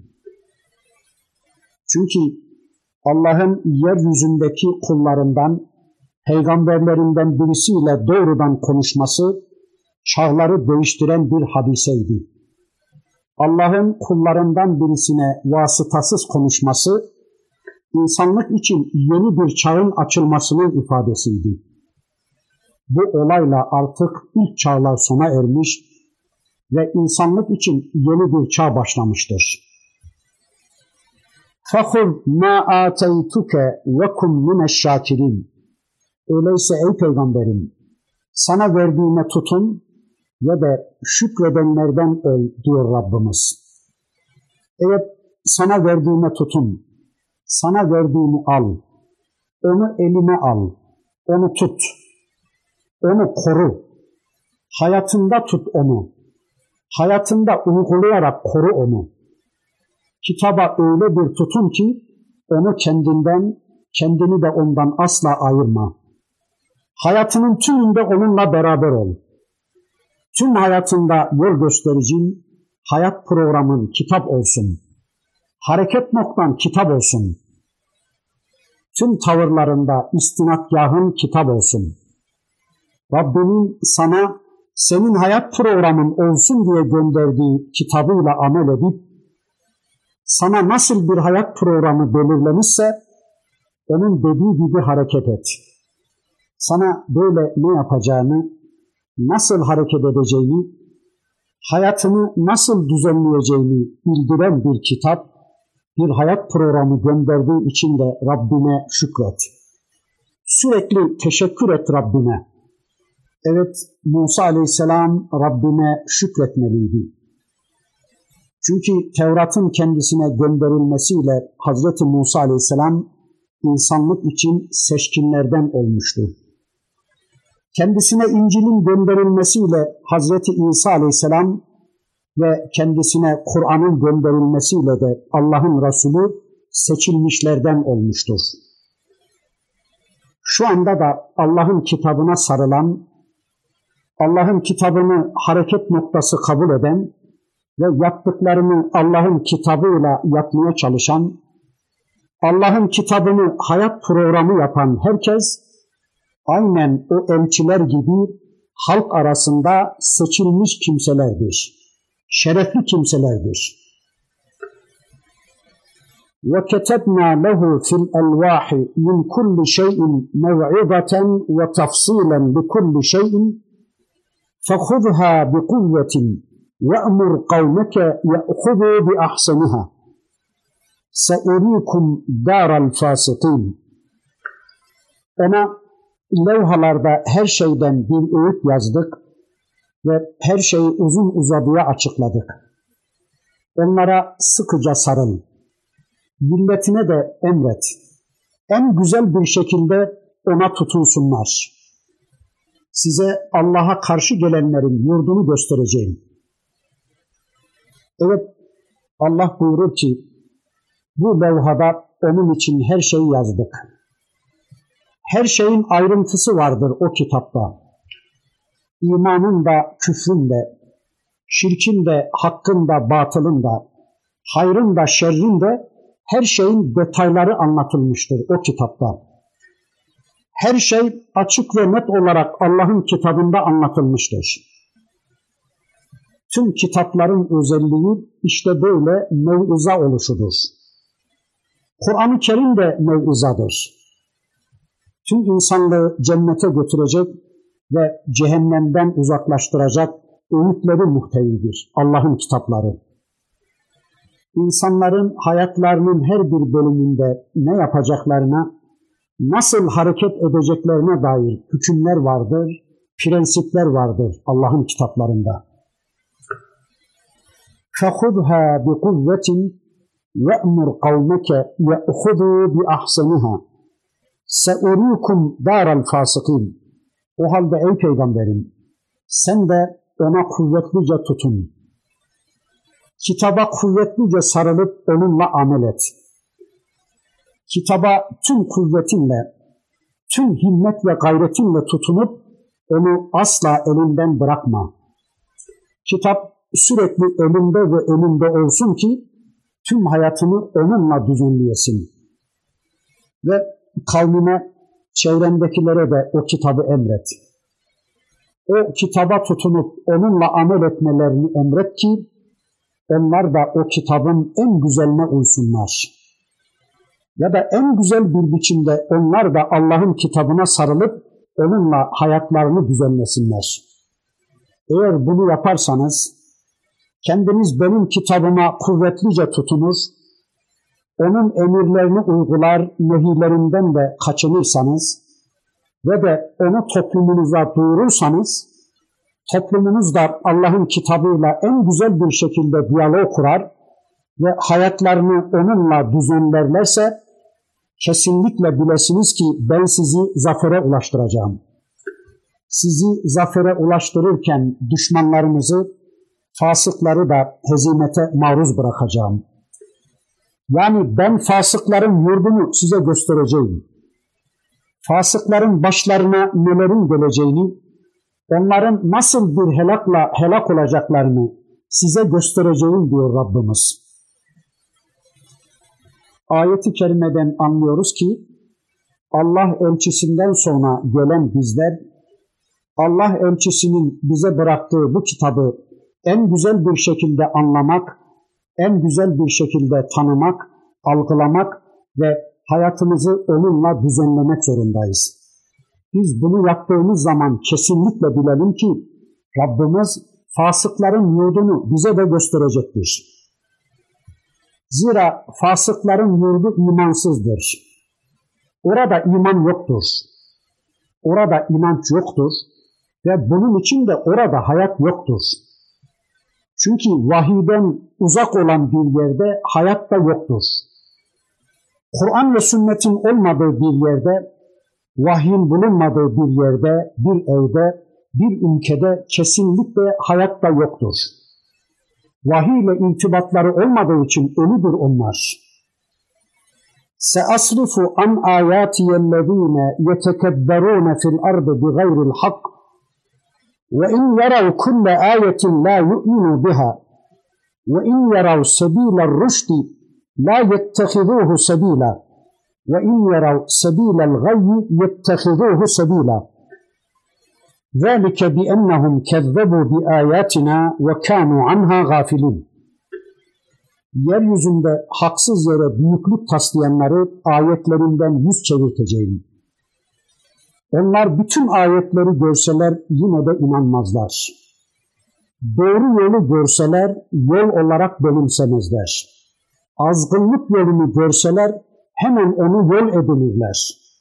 Çünkü Allah'ın yeryüzündeki kullarından, peygamberlerinden birisiyle doğrudan konuşması, çağları değiştiren bir hadiseydi. Allah'ın kullarından birisine vasıtasız konuşması, insanlık için yeni bir çağın açılmasının ifadesiydi. Bu olayla artık ilk çağlar sona ermiş ve insanlık için yeni bir çağ başlamıştır. فَخُذْ مَا آتَيْتُكَ وَكُمْ مِنَ الشَّاكِرِينَ. Öyleyse ey Peygamberim, sana verdiğime tutun ve de şükredenlerden ol diyor Rabbimiz. Evet, sana verdiğime tutun, sana verdiğimi al, onu eline al, onu tut, onu koru, hayatında tut onu, hayatında uygulayarak koru onu. Kitaba öyle bir tutun ki onu kendinden, kendini de ondan asla ayırma. Hayatının tümünde onunla beraber ol. Tüm hayatında yol göstericin, hayat programın kitap olsun. Hareket noktan kitap olsun. Tüm tavırlarında istinadgahın kitap olsun. Rabbinin sana senin hayat programın olsun diye gönderdiği kitabıyla amel edip sana nasıl bir hayat programı belirlemişse onun dediği gibi hareket et. Sana böyle ne yapacağını, nasıl hareket edeceğini, hayatını nasıl düzenleyeceğini bildiren bir kitap, bir hayat programı gönderdiği için de Rabbine şükret. Sürekli teşekkür et Rabbine. Evet, Musa Aleyhisselam Rabbine şükretmeliydi. Çünkü Tevrat'ın kendisine gönderilmesiyle Hazreti Musa Aleyhisselam insanlık için seçkinlerden olmuştu. kendisine İncil'in gönderilmesiyle Hazreti İsa Aleyhisselam ve kendisine Kur'an'ın gönderilmesiyle de Allah'ın Resulü seçilmişlerden olmuştur. Şu anda da Allah'ın kitabına sarılan, Allah'ın kitabını hareket noktası kabul eden ve yaptıklarını Allah'ın kitabıyla yapmaya çalışan, Allah'ın kitabını hayat programı yapan herkes, aynen o elçiler gibi halk arasında seçilmiş kimselerdir, şerefli kimselerdir. وَكَتَبْنَا لَهُ فِي الْأَلْوَاحِ مِنْ كُلِّ شَيْءٍ مَوْعِظَةً وَتَفْصِيلًا لِكُلِّ شَيْءٍ فَخُذْهَا بِقُوَّةٍ وَأْمُرْ قَوْمَكَ يَأْخُذُوا بِأَحْسَنِهَا سَأُرِيكُمْ دَارَ الْفَاسِقِينَ. Ona levhalarda her şeyden bir öğüt yazdık ve her şeyi uzun uzadıya açıkladık. Onlara sıkıca sarıl. Milletine de emret. En güzel bir şekilde ona tutunsunlar. Size Allah'a karşı gelenlerin yurdunu göstereceğim. Evet, Allah buyurur ki, bu levhada onun için her şeyi yazdık. Her şeyin ayrıntısı vardır o kitapta. İmanın da küfrün de, şirkin de hakkın da batılın da, hayrın da şerrin de her şeyin detayları anlatılmıştır o kitapta. Her şey açık ve net olarak Allah'ın kitabında anlatılmıştır. Tüm kitapların özelliği işte böyle mev'iza oluşudur. Kur'an-ı Kerim de mev'izadır. Tüm insanlığı cennete götürecek ve cehennemden uzaklaştıracak öğütleri muhtevidir Allah'ın kitapları. İnsanların hayatlarının her bir bölümünde ne yapacaklarına, nasıl hareket edeceklerine dair hükümler vardır, prensipler vardır Allah'ın kitaplarında. فَخُذْهَا بِقُوَّةٍ وَأْمُرْ قَوْمَكَ يَأْخُذُوا بِأَحْسَنِهَا سَأُرِيكُمْ دَارَ الْفَاسِقِينَ. O halde ey peygamberim, sen de ona kuvvetlice tutun. Kitaba kuvvetlice sarılıp onunla amel et. Kitaba tüm kuvvetinle, tüm himmet ve gayretinle tutunup onu asla elinden bırakma. Kitap sürekli elinde ve önünde olsun ki tüm hayatını onunla düzenleyesin. Ve kavmine, çevrendekilere de o kitabı emret. O kitaba tutunup onunla amel etmelerini emret ki onlar da o kitabın en güzeline uysunlar. Ya da en güzel bir biçimde onlar da Allah'ın kitabına sarılıp onunla hayatlarını düzenlesinler. Eğer bunu yaparsanız, kendiniz benim kitabıma kuvvetlice tutunur, onun emirlerini uygular, nehiylerinden de kaçınırsanız ve de onu toplumunuza duyurursanız, toplumunuz da Allah'ın kitabıyla en güzel bir şekilde diyalog kurar ve hayatlarını onunla düzenlerlerse, kesinlikle bilesiniz ki ben sizi zafere ulaştıracağım. Sizi zafere ulaştırırken düşmanlarınızı, fasıkları da hezimete maruz bırakacağım. Yani ben fasıkların yurdunu size göstereceğim. Fasıkların başlarına nelerin geleceğini, onların nasıl bir helak olacaklarını size göstereceğim diyor Rabbimiz. Ayet-i kerimeden anlıyoruz ki Allah elçisinden sonra gelen bizler, Allah elçisinin bize bıraktığı bu kitabı en güzel bir şekilde anlamak, en güzel bir şekilde tanımak, algılamak ve hayatımızı onunla düzenlemek zorundayız. Biz bunu yaptığımız zaman kesinlikle bilelim ki Rabbimiz fasıkların yurdunu bize de gösterecektir. Zira fasıkların yurdu imansızdır. Orada iman yoktur. Orada inanç yoktur ve bunun için de orada hayat yoktur. Çünkü vahiyden uzak olan bir yerde hayat da yoktur. Kur'an ve sünnetin olmadığı bir yerde Vahyin bulunmadığı bir yerde, bir evde, bir ülkede kesinlikle hayat da yoktur. Vahiy ile irtibatları olmadığı için ölüdür onlar. سَأَصْرِفُ عَنْ آيَاتِيَ الَّذ۪ينَ يَتَكَبَّرُونَ فِي الْأَرْضِ بِغَيْرِ الْحَقِّ وَاِنْ يَرَوْا كُلَّ آيَةٍ لَا يُؤْمِنُوا بِهَا وَاِنْ يَرَوْا سَب۪يلَ الرُّشْدِ لَا يَتَّخِذُوهُ سَب۪يلًا وَاِنْ يَرَوْا سَب۪يلَ الْغَيِّ يَتَّخِذُوهُ سَب۪يلًا ذَٰلِكَ بِأَنَّهُمْ كَذَّبُوا بِآيَاتِنَا وَكَانُوا عَنْهَا غَافِلِينَ. Yeryüzünde haksız yere büyüklük taslayanları ayetlerinden yüz çevirteceğim. Onlar bütün ayetleri görseler yine de inanmazlar. Doğru yolu görseler yol olarak benimsemezler. Azgınlık yolunu görseler hemen onu yol edinirler.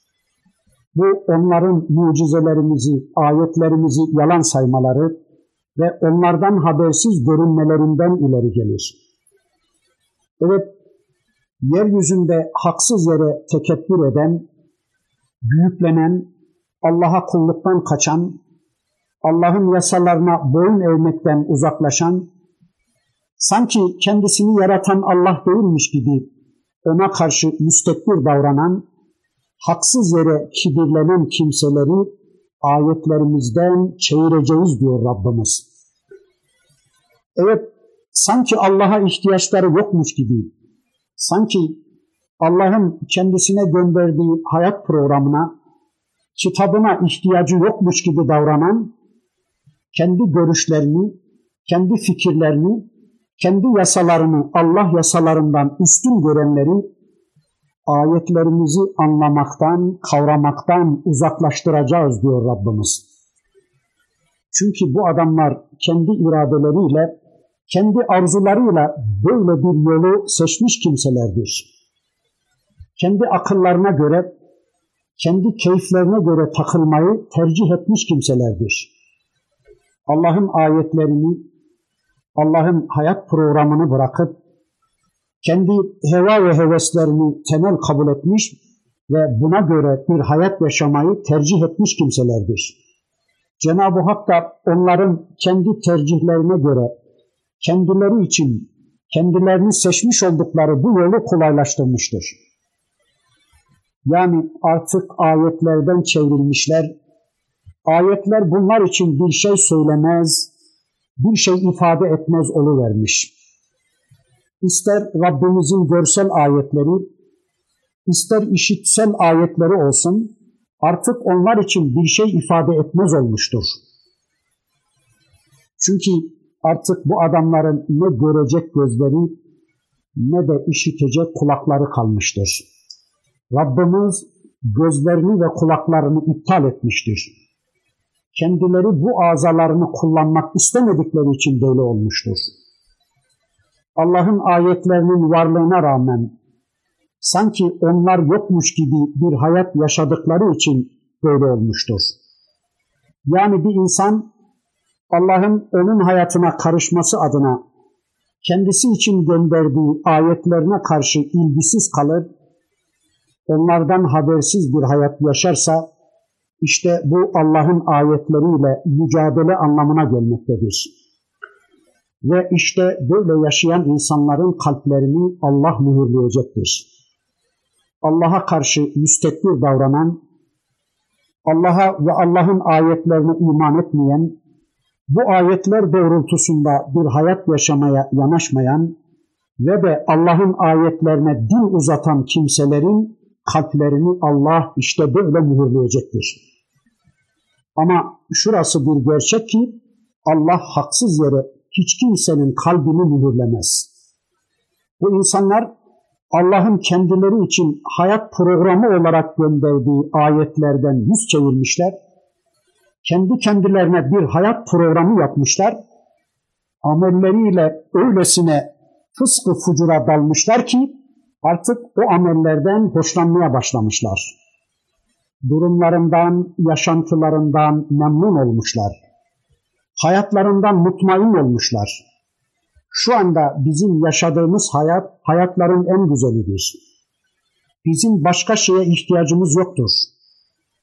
Bu onların mucizelerimizi, ayetlerimizi yalan saymaları ve onlardan habersiz görünmelerinden ileri gelir. Evet, yeryüzünde haksız yere tekebbür eden, büyüklenen, Allah'a kulluktan kaçan, Allah'ın yasalarına boyun eğmekten uzaklaşan, sanki kendisini yaratan Allah değilmiş gibi ona karşı müstekbir davranan, haksız yere kibirlenen kimseleri ayetlerimizden çevireceğiz diyor Rabbimiz. Evet, sanki Allah'a ihtiyaçları yokmuş gibi, sanki Allah'ın kendisine gönderdiği hayat programına, kitabına ihtiyacı yokmuş gibi davranan, kendi görüşlerini, kendi fikirlerini, kendi yasalarını Allah yasalarından üstün görenleri ayetlerimizi anlamaktan, kavramaktan uzaklaştıracağız diyor Rabbimiz. Çünkü bu adamlar kendi iradeleriyle, kendi arzularıyla böyle bir yolu seçmiş kimselerdir. Kendi akıllarına göre, kendi keyiflerine göre takılmayı tercih etmiş kimselerdir. Allah'ın ayetlerini, Allah'ın hayat programını bırakıp, kendi heva ve heveslerini temel kabul etmiş ve buna göre bir hayat yaşamayı tercih etmiş kimselerdir. Cenab-ı Hak da onların kendi tercihlerine göre, kendileri için, kendilerini seçmiş oldukları bu yolu kolaylaştırmıştır. Yani artık ayetlerden çevrilmişler, ayetler bunlar için bir şey söylemez, bir şey ifade etmez oluvermiş. İster Rabbimizin görsel ayetleri, ister işitsel ayetleri olsun, artık onlar için bir şey ifade etmez olmuştur. Çünkü artık bu adamların ne görecek gözleri ne de işitecek kulakları kalmıştır. Rabbimiz gözlerini ve kulaklarını iptal etmiştir. Kendileri bu azalarını kullanmak istemedikleri için böyle olmuştur. Allah'ın ayetlerinin varlığına rağmen sanki onlar yokmuş gibi bir hayat yaşadıkları için böyle olmuştur. Yani bir insan Allah'ın onun hayatına karışması adına kendisi için gönderdiği ayetlerine karşı ilgisiz kalır, onlardan habersiz bir hayat yaşarsa, işte bu Allah'ın ayetleriyle mücadele anlamına gelmektedir. Ve işte böyle yaşayan insanların kalplerini Allah mühürleyecektir. Allah'a karşı müstekbir davranan, Allah'a ve Allah'ın ayetlerine iman etmeyen, bu ayetler doğrultusunda bir hayat yaşamaya yanaşmayan ve de Allah'ın ayetlerine dil uzatan kimselerin kalplerini Allah işte böyle mühürleyecektir. Ama şurası bir gerçek ki Allah haksız yere hiç kimsenin kalbini mühürlemez. Bu insanlar Allah'ın kendileri için hayat programı olarak gönderdiği ayetlerden yüz çevirmişler. Kendi kendilerine bir hayat programı yapmışlar. Amelleriyle öylesine fıskı fucura dalmışlar ki artık o amellerden hoşlanmaya başlamışlar. Durumlarından, yaşantılarından memnun olmuşlar. Hayatlarından mutmain olmuşlar. Şu anda bizim yaşadığımız hayat, hayatların en güzelidir. Bizim başka şeye ihtiyacımız yoktur.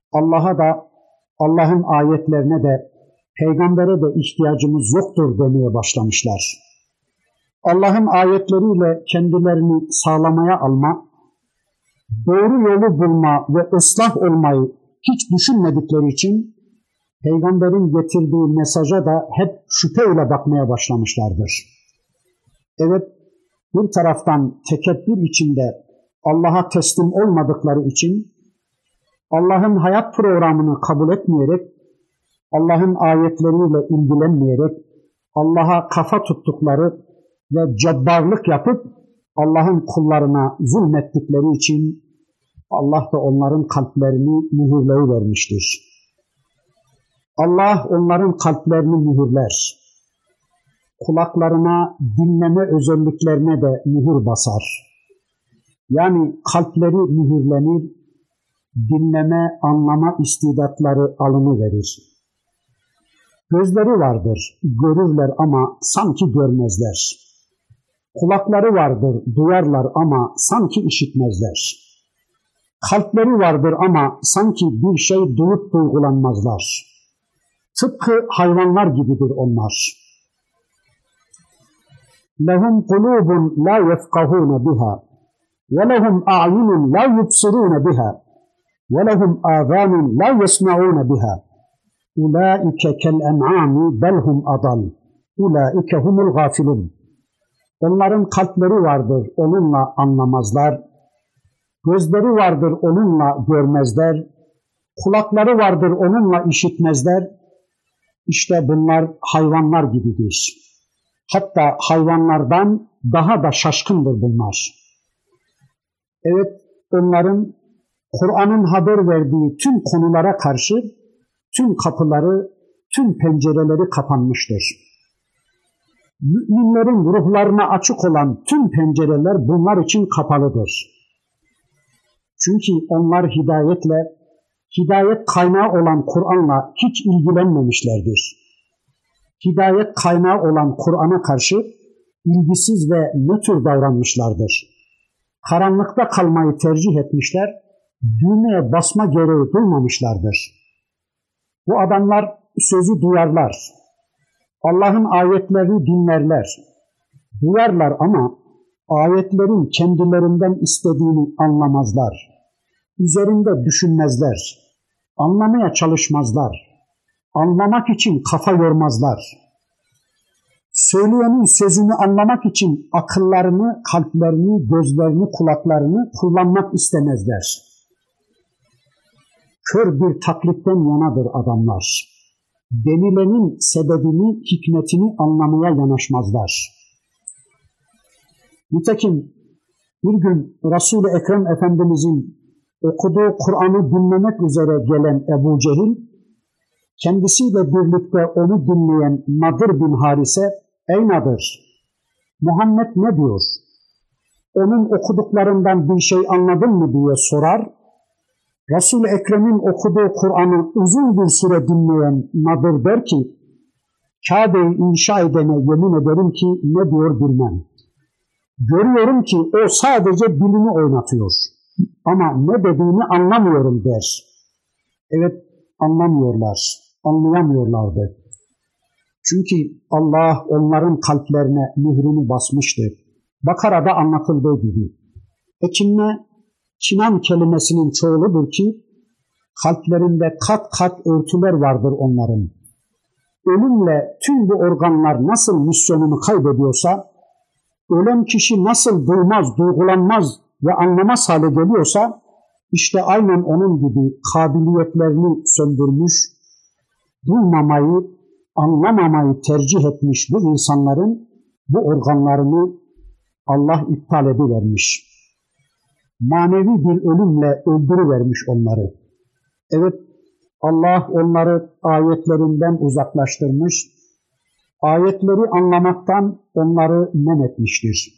Allah'a da, Allah'ın ayetlerine de, peygambere de ihtiyacımız yoktur demeye başlamışlar. Allah'ın ayetleriyle kendilerini sağlamaya alma, doğru yolu bulma ve ıslah olmayı hiç düşünmedikleri için peygamberin getirdiği mesaja da hep şüpheyle bakmaya başlamışlardır. Evet, bir taraftan tekebbür içinde Allah'a teslim olmadıkları için Allah'ın hayat programını kabul etmeyerek, Allah'ın ayetleriyle ilgilenmeyerek Allah'a kafa tuttukları ve cabbarlık yapıp Allah'ın kullarına zulmettikleri için Allah da onların kalplerini mühürleyivermiştir. Allah onların kalplerini mühürler. Kulaklarına, dinleme özelliklerine de mühür basar. Yani kalpleri mühürlenir, dinleme, anlama istidatları alınıverir. Gözleri vardır, görürler ama sanki görmezler. Kulakları vardır, duyarlar ama sanki işitmezler. Kalpleri vardır ama sanki bir şey duyup duygulanmazlar. Tıpkı hayvanlar gibidir onlar. لَهُمْ قُلُوبٌ لَا يَفْقَهُونَ بِهَا وَلَهُمْ أَعْيُنٌ لَا يُبْصِرُونَ بِهَا وَلَهُمْ آذَانٌ لَا يَسْمَعُونَ بِهَا أُولَٰئِكَ كَالْأَنْعَامِ بَلْ هُمْ أَضَلُّ أُولَٰئِكَ هُمُ الْغَافِلُونَ. Onların kalpleri vardır, onunla anlamazlar. Gözleri vardır, onunla görmezler. Kulakları vardır, onunla işitmezler. İşte bunlar hayvanlar gibidir. Hatta hayvanlardan daha da şaşkındır bunlar. Evet, onların Kur'an'ın haber verdiği tüm konulara karşı tüm kapıları, tüm pencereleri kapanmıştır. Müminlerin ruhlarına açık olan tüm pencereler bunlar için kapalıdır. Çünkü onlar hidayet kaynağı olan Kur'an'la hiç ilgilenmemişlerdir. Hidayet kaynağı olan Kur'an'a karşı ilgisiz ve nötr davranmışlardır. Karanlıkta kalmayı tercih etmişler, düğmeye basma gereği duymamışlardır. Bu adamlar sözü duyarlar, Allah'ın ayetlerini dinlerler, duyarlar ama ayetlerin kendilerinden istediğini anlamazlar. Üzerinde düşünmezler, anlamaya çalışmazlar, anlamak için kafa yormazlar. Söyleyenin sözünü anlamak için akıllarını, kalplerini, gözlerini, kulaklarını kullanmak istemezler. Kör bir taklitten yanadır adamlar. Denilenin sebebini, hikmetini anlamaya yanaşmazlar. Nitekim bir gün Resul-i Ekrem Efendimizin okuduğu Kur'an'ı dinlemek üzere gelen Ebu Cehil, kendisiyle birlikte onu dinleyen Nadir bin Harise, "Ey Nadir, Muhammed ne diyor? Onun okuduklarından bir şey anladın mı?" diye sorar. Resul-i Ekrem'in okuduğu Kur'an'ı uzun bir süre dinleyen Nadir der ki, "Kabe'yi inşa edene yemin ederim ki ne diyor bilmem. Görüyorum ki o sadece dilini oynatıyor. Ama ne dediğini anlamıyorum" der. Evet, anlayamıyorlardı. Çünkü Allah onların kalplerine mührünü basmıştı. Bakara'da anlatıldığı gibi. Kinan kelimesinin çoğuludur ki kalplerinde kat kat örtüler vardır onların. Ölümle tüm bu organlar nasıl misyonunu kaybediyorsa, ölen kişi nasıl duymaz, duygulanmaz ve anlamaz hale geliyorsa, işte aynen onun gibi kabiliyetlerini söndürmüş, duymamayı, anlamamayı tercih etmiş bu insanların bu organlarını Allah iptal edivermiş. Manevi bir ölümle öldürüvermiş onları. Evet, Allah onları ayetlerinden uzaklaştırmış, ayetleri anlamaktan onları men etmiştir.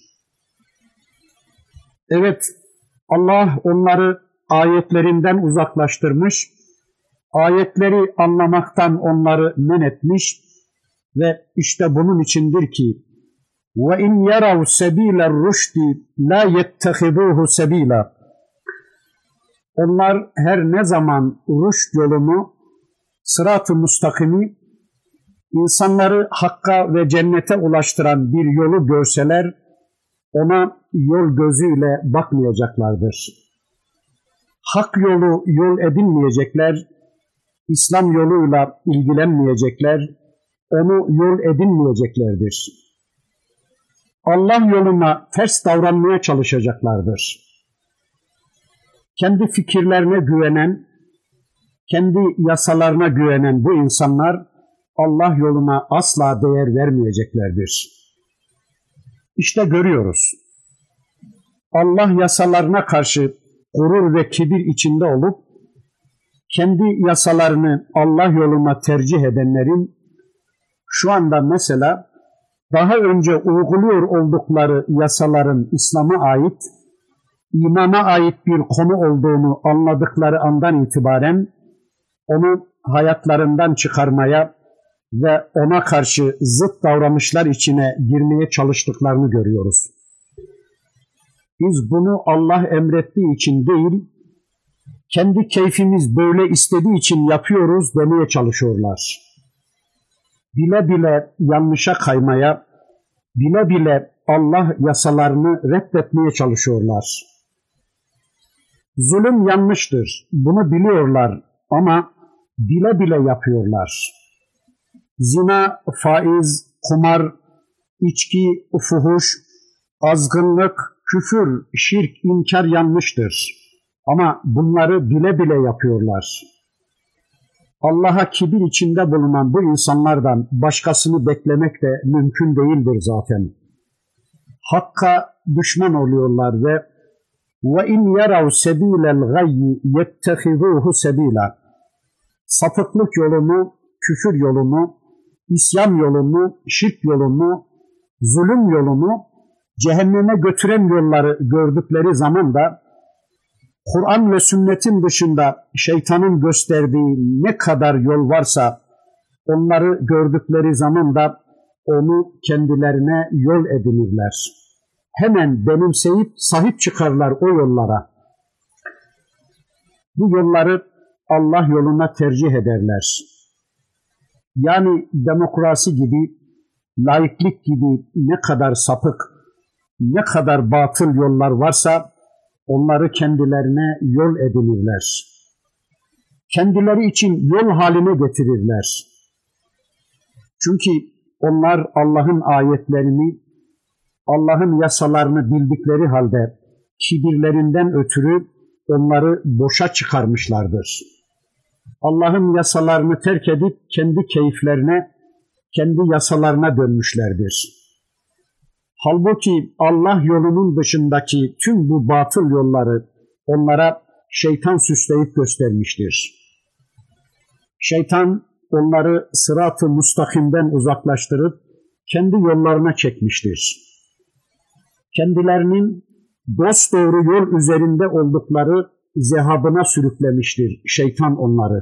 Evet, Allah onları ayetlerinden uzaklaştırmış, ayetleri anlamaktan onları men etmiş ve işte bunun içindir ki وَاِنْ يَرَوْ سَب۪يلَ الرُّشْدِ لَا يَتَّخِذُوهُ سَب۪يلًا. Onlar her ne zaman rüşt yolunu, sırat-ı müstakimi, insanları hakka ve cennete ulaştıran bir yolu görseler, ona yol gözüyle bakmayacaklardır. Hak yolu yol edinmeyecekler, İslam yoluyla ilgilenmeyecekler, onu yol edinmeyeceklerdir. Allah yoluna ters davranmaya çalışacaklardır. Kendi fikirlerine güvenen, kendi yasalarına güvenen bu insanlar Allah yoluna asla değer vermeyeceklerdir. İşte görüyoruz. Allah yasalarına karşı gurur ve kibir içinde olup kendi yasalarını Allah yoluna tercih edenlerin şu anda mesela daha önce uyguluyor oldukları yasaların İslam'a ait, imana ait bir konu olduğunu anladıkları andan itibaren onu hayatlarından çıkarmaya ve ona karşı zıt davranışlar içine girmeye çalıştıklarını görüyoruz. Biz bunu Allah emrettiği için değil, kendi keyfimiz böyle istediği için yapıyoruz demeye çalışıyorlar. Bile bile yanlışa kaymaya, bile bile Allah yasalarını reddetmeye çalışıyorlar. Zulüm yanlıştır, bunu biliyorlar ama bile bile yapıyorlar. Zina, faiz, kumar, içki, fuhuş, azgınlık, küfür, şirk, inkar yanlıştır. Ama bunları bile bile yapıyorlar. Allah'a kibir içinde bulunan bu insanlardan başkasını beklemek de mümkün değildir zaten. Hakka düşman oluyorlar ve وَاِنْ يَرَوْ سَب۪يلَ الْغَيِّ يَتَّخِذُوهُ سَب۪يلًا Sapıklık yolunu, küfür yolunu, isyan yolunu, şirk yolunu, zulüm yolunu, cehenneme götüren yolları gördükleri zaman da Kur'an ve sünnetin dışında şeytanın gösterdiği ne kadar yol varsa onları gördükleri zaman da onu kendilerine yol edinirler. Hemen benimseyip sahip çıkarlar o yollara. Bu yolları Allah yoluna tercih ederler. Yani demokrasi gibi, laiklik gibi ne kadar sapık, ne kadar batıl yollar varsa onları kendilerine yol edinirler. Kendileri için yol haline getirirler. Çünkü onlar Allah'ın ayetlerini, Allah'ın yasalarını bildikleri halde kibirlerinden ötürü onları boşa çıkarmışlardır. Allah'ın yasalarını terk edip kendi keyiflerine, kendi yasalarına dönmüşlerdir. Halbuki Allah yolunun dışındaki tüm bu batıl yolları onlara şeytan süsleyip göstermiştir. Şeytan onları sırat-ı müstakimden uzaklaştırıp kendi yollarına çekmiştir. Kendilerinin dosdoğru yol üzerinde oldukları zehabına sürüklemiştir şeytan onları.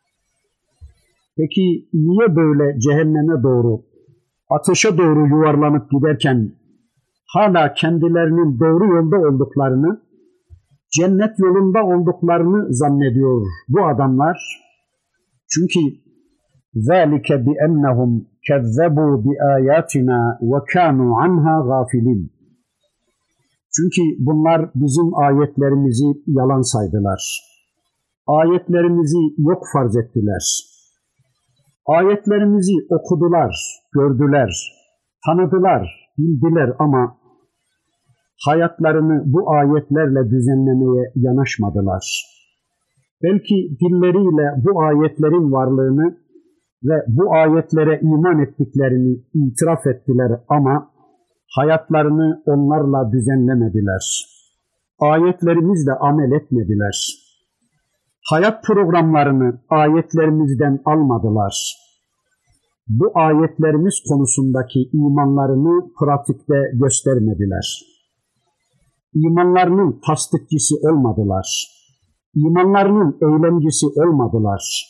Peki niye böyle cehenneme doğru, ateşe doğru yuvarlanıp giderken hala kendilerinin doğru yolda olduklarını, cennet yolunda olduklarını zannediyor bu adamlar? Çünkü ذَٰلِكَ بِأَنَّهُمْ كَذَّبُوا بِآيَاتِنَا وَكَانُوا عَنْهَا غَافِلِينَ Çünkü bunlar bizim ayetlerimizi yalan saydılar. Ayetlerimizi yok farz ettiler. Ayetlerimizi okudular, gördüler, tanıdılar, bildiler ama hayatlarını bu ayetlerle düzenlemeye yanaşmadılar. Belki dilleriyle bu ayetlerin varlığını ve bu ayetlere iman ettiklerini itiraf ettiler ama hayatlarını onlarla düzenlemediler. Ayetlerimizle amel etmediler. Hayat programlarını ayetlerimizden almadılar. Bu ayetlerimiz konusundaki imanlarını pratikte göstermediler. İmanlarının tasdikçisi olmadılar. İmanlarının eylemcisi olmadılar.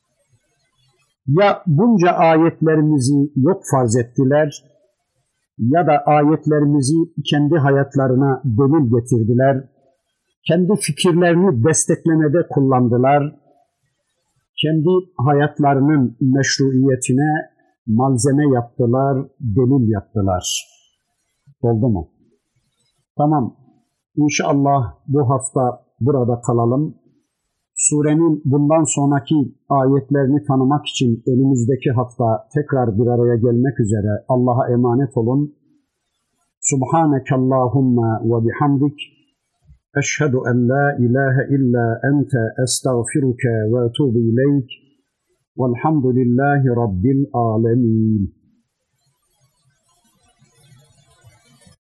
Ya bunca ayetlerimizi yok farz ettiler ya da ayetlerimizi kendi hayatlarına delil getirdiler kendi fikirlerini desteklemede kullandılar, kendi hayatlarının meşruiyetine malzeme yaptılar, delil yaptılar. Oldu mu? Tamam. İnşallah bu hafta burada kalalım. Surenin bundan sonraki ayetlerini tanımak için önümüzdeki hafta tekrar bir araya gelmek üzere Allah'a emanet olun. Subhaneke Allahumma ve bihamdik. Eşhedü en la ilahe illa ente estağfiruke ve etubu ileyk. Velhamdülillahi Rabbil alemin.